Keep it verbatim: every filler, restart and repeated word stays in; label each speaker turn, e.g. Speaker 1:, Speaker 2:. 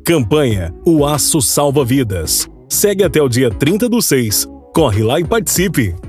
Speaker 1: Campanha O Aço Salva Vidas. Segue até o dia trinta do seis. Corre lá e participe!